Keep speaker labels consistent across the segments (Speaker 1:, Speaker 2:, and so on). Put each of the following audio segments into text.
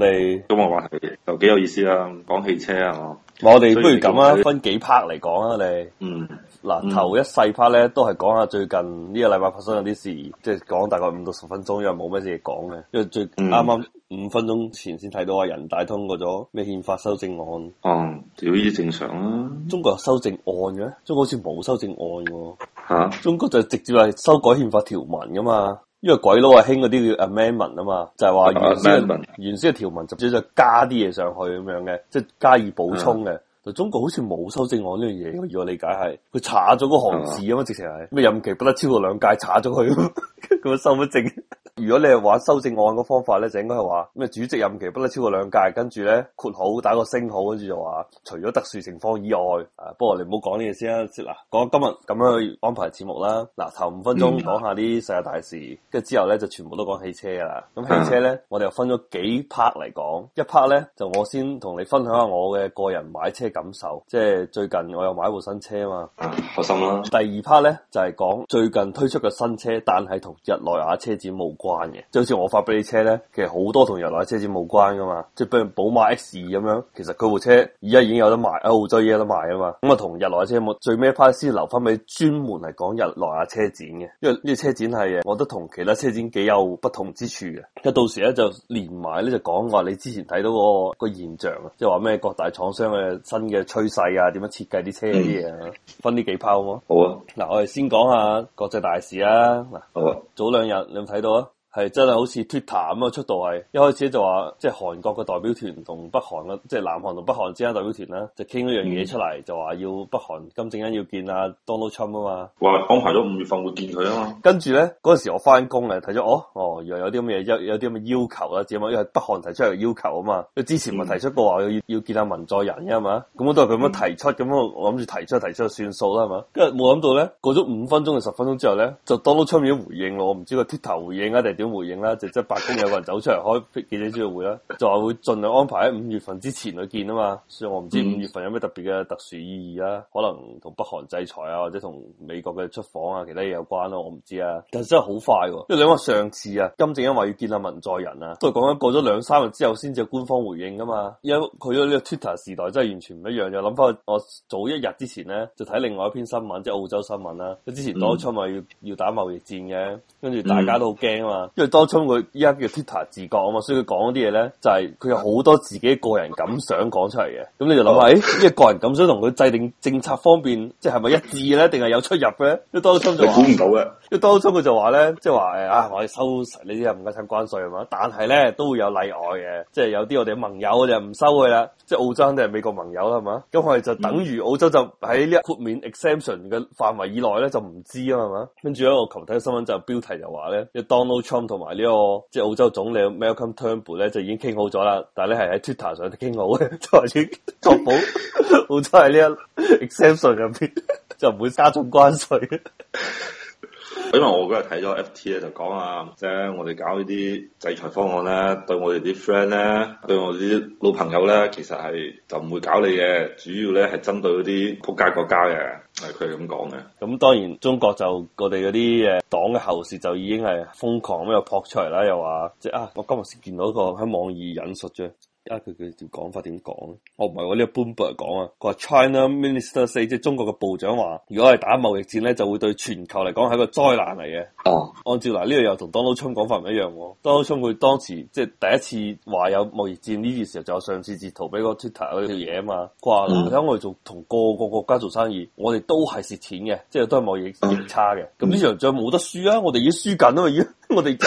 Speaker 1: 哋
Speaker 2: 今日話題又幾有意思啦，講汽車啊嘛。
Speaker 1: 我哋不如咁啊，分幾 part 嚟講啊，你。嗱，頭一細 part 咧都係講下最近呢個禮拜發生嗰啲事，即係講大概5到10分鐘，因為冇咩嘢講嘅。因為最啱啱5分鐘前先睇到話人大通過咗咩憲法修正案。
Speaker 2: 屌呢啲正常啦。
Speaker 1: 中國有修正案嘅？中國好似冇修正案喎。
Speaker 2: 嚇？
Speaker 1: 中國就直接係修改憲法條文噶嘛。因為鬼佬係興嗰啲叫 amendment 啊嘛，就係話原先嘅條文直接就加啲嘢上去咁樣嘅，即係加以補充嘅。就中國好似冇修正案呢樣嘢，如果理解係佢查咗嗰行字啊嘛，直情係咩任期不得超過2屆，查咗佢咁收乜證？如果你係玩修正案個方法咧，就應該係話咩主席任期不得超過2屆，跟住咧括號打個星號，跟住就話除咗特殊情況以外，不過你唔好講呢嘢先啦。嗱，講今日咁樣去安排節目啦。嗱，頭5分鐘講下啲世界大事，跟住之後咧就全部都講汽車噶啦。咁汽車咧，我哋又分咗幾 part 嚟講。一 part 咧就我先同你分享下我嘅個人買車感受，即係最近我又買部新車啊嘛。
Speaker 2: 開心啦。
Speaker 1: 第二 part 咧就係講最近推出嘅新車，但係同日內瓦車展冇關嘅，就好似我發俾你車咧，其實好多同日內瓦車展冇關噶嘛，即係比如寶馬 X2咁樣，其實佢部車而家已經有得賣，喺澳洲已經有得賣啊嘛，咁啊同日內瓦車冇，最尾一 part 先留翻俾專門係講日內瓦車展嘅，因為呢個車展係我覺得同其他車展幾有不同之處嘅，咁到時咧就連埋咧就講話你之前睇到個現象啊，即係話咩各大廠商嘅新嘅趨勢啊，點樣設計啲車嗰啲嘢啊，分呢幾 part 好冇？
Speaker 2: 好啊，
Speaker 1: 嗱我哋先講下國際大事啊，嗱
Speaker 2: 好啊，
Speaker 1: 早2日你有冇睇到啊？係真係好似 Twitter 咁嘅速度係，一開始就話即係韓國嘅代表團同北韓嘅，即係南韓同北韓之間代表團啦，就傾一樣嘢出嚟，就話要北韓金正恩要見阿 Donald Trump 啊嘛，
Speaker 2: 話安排咗5月份會見佢啊嘛。
Speaker 1: 跟住咧嗰陣時我翻工啊，睇咗原來有啲咁嘅嘢，有啲咁嘅要求啦，只係因為北韓提出嚟嘅要求啊嘛，佢之前咪提出過話要見下文在寅嘅係嘛，咁我都係咁樣提出，咁我諗住提出就算數啦係嘛，跟住冇諗到咧過咗5分鐘定10分鐘之後咧，就 Donald Trump 已經回應咯，我唔知個 Twitter 回應啊定係點回應啦，即係白宮有個人走出嚟開記者招待會啦，就話會盡量安排喺5月份之前去見啊嘛，所以我唔知5月份有咩特別嘅特殊意義啦，可能同北韓制裁啊或者同美國嘅出訪啊其他嘢有關咯，我唔知啊，但係真係好快喎，因為你話上次啊金正恩話要見阿文在寅啊，都係講緊過咗2-3日之後先至有官方回應噶嘛，因為佢咗呢個 Twitter 時代真係完全唔一樣，又諗翻我早1日之前咧就睇另外一篇新聞，即係澳洲新聞啦，佢之前當初咪要打貿易戰嘅，跟住大家都好驚啊嘛，因為當初佢依家叫 Twitter 自覺啊嘛，所以佢講嗰啲嘢咧就係佢有好多自己個人感想講出嚟嘅。咁你就諗下，呢個個人感想同佢制定政策方面，即係咪一致咧，定係有出入嘅咧？因為當初就話，
Speaker 2: 你估唔到嘅。
Speaker 1: 因為當初佢就話咧，即係話我哋收呢啲唔該產關稅係嘛，但係咧都會有例外嘅，即係有啲我哋盟友就唔收佢啦，即係澳洲肯定係美國盟友啦係嘛，咁我哋就等於澳洲就喺呢一豁免 exemption 嘅範圍以內咧就唔知啊嘛，跟住咧我琴日睇新聞就標題就話咧，Donald Trump 同埋呢個即係澳洲總理 Malcolm Turnbull 咧就已經傾好咗啦，但係咧係喺 Twitter 上傾好嘅，就話要確保澳洲喺呢一 exemption 入邊就唔會加重關稅。
Speaker 2: 因為我嗰日睇咗 FT 咧，就講啊，即係我哋搞呢啲制裁方案咧，對我哋啲 friend 咧，對我哋啲老朋友咧，其實係就唔會搞你嘅，主要咧係針對嗰啲仆街國家嘅，係佢係咁講嘅。咁
Speaker 1: 當然中國就我哋嗰啲黨嘅喉舌就已經係瘋狂咁又撲出嚟啦，又話即係我今日先見到一個喺網易引述啫。佢條講法點講咧？我唔係我呢個 Bloomberg 講啊，佢話 China Minister say 即係中國嘅部長話，如果係打貿易戰咧，就會對全球嚟講係一個災難嚟嘅。按照嗱呢個又同 Donald Trump 講法唔一樣喎。Donald Trump 佢當時即係第一次話有貿易戰呢件時候，就有上次截圖俾個 Twitter 嗰條嘢啊嘛。佢話你睇我哋做同個個國家做生意，我哋都係蝕錢嘅，即係都係貿易逆差嘅。咁呢場仗冇得輸啊！我哋已經輸緊啊嘛，已經我哋。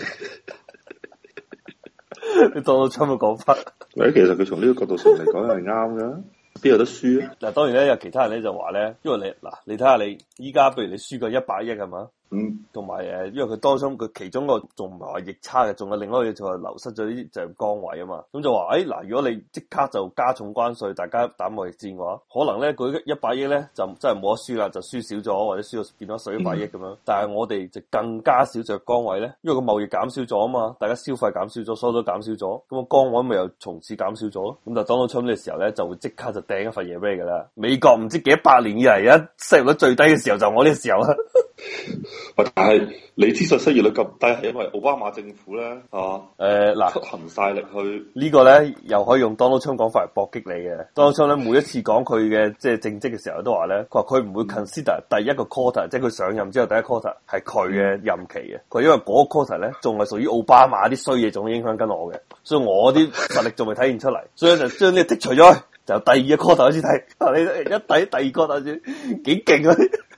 Speaker 1: 你當到差唔多講法，
Speaker 2: 其實佢從呢個角度上嚟講係啱嘅，邊有得輸啊？
Speaker 1: 嗱，當然咧有其他人咧就話咧，因為你睇下你依家，譬如你輸個100億係嘛？同埋因為佢當中佢其中個仲唔係話逆差嘅，仲有另外一個嘢就係流失咗啲就業崗位啊嘛。咁就話嗱，如果你即刻就加重關稅，大家打貿易戰嘅話，可能咧佢100億咧就真係冇得輸啦，就輸少咗或者輸到變咗1100億咁樣。但係我哋就更加少就業崗位咧，因為個貿易減少咗啊嘛，大家消費減少咗，所有都減少咗，咁個崗位咪又從此減少咗。咁就當到出呢嘅時候咧，就會即刻就掟一份嘢俾你噶啦。美國唔知幾百年以嚟失業率最低嘅時候就我呢個時候啦。
Speaker 2: 喂，但係你之所以失業率咁低，係因為奧巴馬政府咧，係
Speaker 1: 嗱，
Speaker 2: 出行晒力去
Speaker 1: 呢個咧又可以用 Donald Trump 講法嚟搏擊你嘅。Donald Trump 咧每一次講佢嘅即係政績嘅時候都話咧，佢話佢唔會 consider 第一個 quarter，即係佢上任之後第一 quarter 係佢嘅任期嘅。佢因為嗰個 quarter 咧仲係屬於奧巴馬啲衰嘢，仲影響緊我嘅，所以我啲實力仲未體現出嚟，所以就將呢個剔除咗，就第二個 quarter 開始睇。你一睇第二個 quarter 先幾勁啊！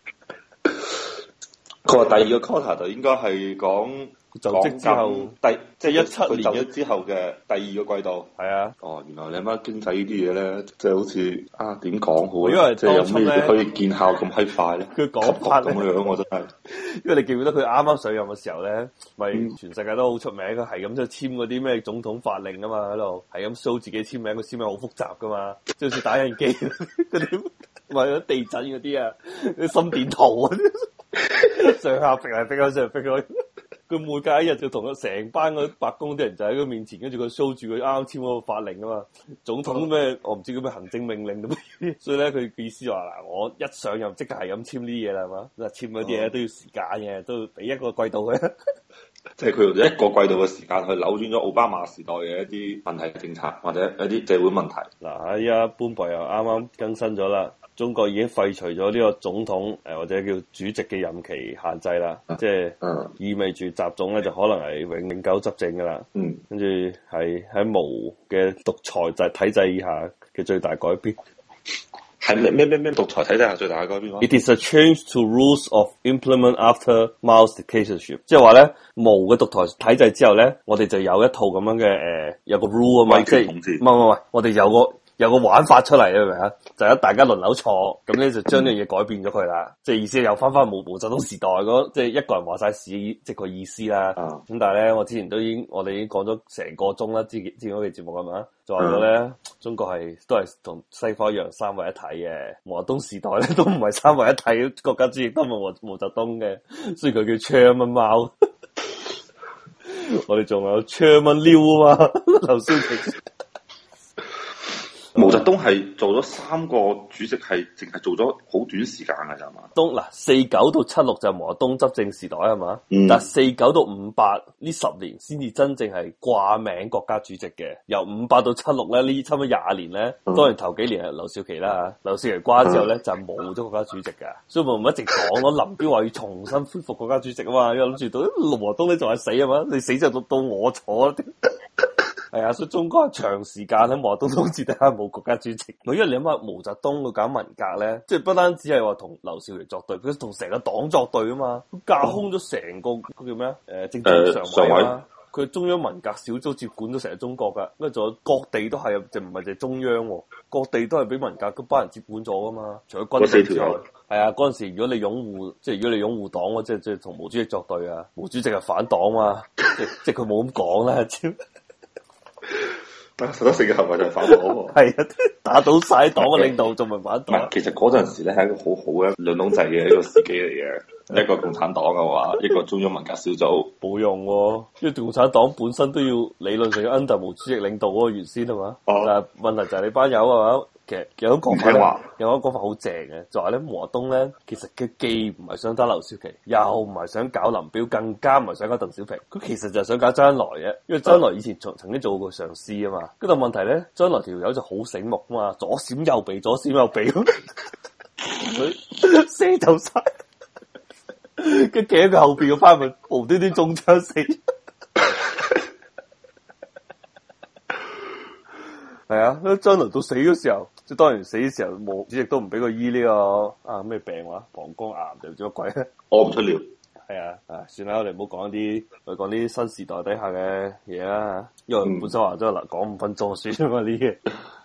Speaker 2: 佢話第二個 quarter 就應該係講
Speaker 1: 就職之後
Speaker 2: 即係17年咗之後嘅第二個季度。
Speaker 1: 係啊。
Speaker 2: 哦，原來你媽經濟呢啲嘢咧，即係好似點講好？
Speaker 1: 因為
Speaker 2: 即係有咩可以見效咁閪快咧？
Speaker 1: 佢講法
Speaker 2: 咁樣我真係，
Speaker 1: 因為你記唔記得佢啱啱上任嘅時候咧，咪全世界都好出名，佢係咁就簽嗰啲咩總統法令啊嘛，喺度係咁 show 自己簽名，佢簽名好複雜噶嘛，即係好似打印機嗰啲，咪嗰地震嗰啲啊，啲心電圖啊，上下揈嚟揈去，上揈去。佢每隔一日就同佢成班嗰白宮啲人就喺佢面前，跟住佢 show 住佢啱啱簽嗰個法令啊嘛，總統咩我唔知叫咩行政命令咁，所以咧佢意思話嗱，我一上任即刻係咁簽呢啲嘢啦，係嘛？嗱，簽嗰啲嘢都要時間嘅，都要俾一個季度嘅，
Speaker 2: 即係佢用咗一個季度嘅時間去扭轉咗奧巴馬時代嘅一啲問題政策或者一啲社會問題。
Speaker 1: 嗱，依家搬博又啱啱更新咗啦。中國已經廢除咗呢個總統或者叫主席嘅任期限制啦，即係意味住習總咧就可能係永久執政噶啦。跟住係喺毛嘅獨裁制體制以下嘅最大改變。
Speaker 2: 係咩獨裁體制下最大嘅改變
Speaker 1: ？It is a change to rules of implement after Mao's dictatorship， 即係話咧毛嘅獨裁體制之後咧，我哋就有一套咁樣嘅有個 rule 啊嘛，即係唔係，我哋有個玩法出嚟，你明唔明啊？就係大家輪流坐，咁咧就將呢樣嘢改變咗佢啦。即係意思又翻毛澤東時代嗰，即係一個人話晒事，即係個意思啦。咁但係咧，我之前我哋已經講咗成個鐘啦，之前嗰期節目係嘛，就話咗咧，中國都係同西方一樣三位一體嘅。毛澤東時代咧都唔係三位一體，國家主席都唔係毛澤東嘅，所以佢叫 Chairman Mao。我哋仲有 Chairman Liu 啊嘛，劉少奇。
Speaker 2: 毛澤東係做咗3個主席，係淨係做咗好短時間㗎咋嘛？
Speaker 1: 嗱，49到76就係毛澤東執政時代係嘛？但係49到58呢10年先至真正係掛名國家主席嘅。由58到76咧，呢差唔多20年咧，當然頭幾年係劉少奇啦，劉少奇掛之後咧就冇咗國家主席㗎，所以我咪一直講咯。林彪話要重新恢復國家主席啊嘛，因為諗住到毛澤東你仲係死啊嘛，你死就到我坐。係啊，所以中國係長時間喺毛澤東統治底下冇國家主席。因為你諗下毛澤東佢搞文革咧，即係不單止係話同劉少奇作對，佢同成個黨作對啊嘛，架空咗成個叫咩政治常委啊。佢中央文革小組接管咗成個中國噶，跟住仲有各地都係，就唔係淨係中央，各地都係俾文革嗰班人接管咗噶嘛。除咗軍隊之外，係啊，嗰陣時如果你擁護，即係如果你擁護黨，即係同毛主席作對啊，毛主席係反黨嘛，即係佢冇咁講啦。
Speaker 2: 但實質性嘅行為就係反黨喎，
Speaker 1: 係啊，打倒晒黨嘅領導仲唔係反黨？
Speaker 2: 其實嗰陣時咧係一個好好嘅兩黨制嘅一個時機嚟嘅，一個共產黨嘅話，一個中央文革小組冇
Speaker 1: 用喎，因為共產黨本身都要理論上要 under 毛主席領導嗰個原先係嘛，但係問題就係你班友係嘛，其實有一個講法好正嘅，就係咧毛澤東咧，其實佢既唔係想打劉少奇，又唔係想搞林彪，更加唔係想搞鄧小平，佢其實就係想搞周恩來嘅，因為周恩來以前曾經做過上司啊嘛，跟住問題咧，周恩來條友就好醒目啊嘛，左閃右避，左閃右避，佢射走晒，跟住企喺佢後邊個班咪無端端中槍死。係啊，周恩來到死嘅時候，即係當然死嘅時候，毛主席都唔俾佢醫呢個咩病話，膀胱癌定唔知乜鬼咧，屙唔出尿。係啊，算啦，我哋唔好講啲，我講啲新時代底下嘅嘢啦，因為本身話咗嗱講5分鐘算啊嘛呢啲嘢。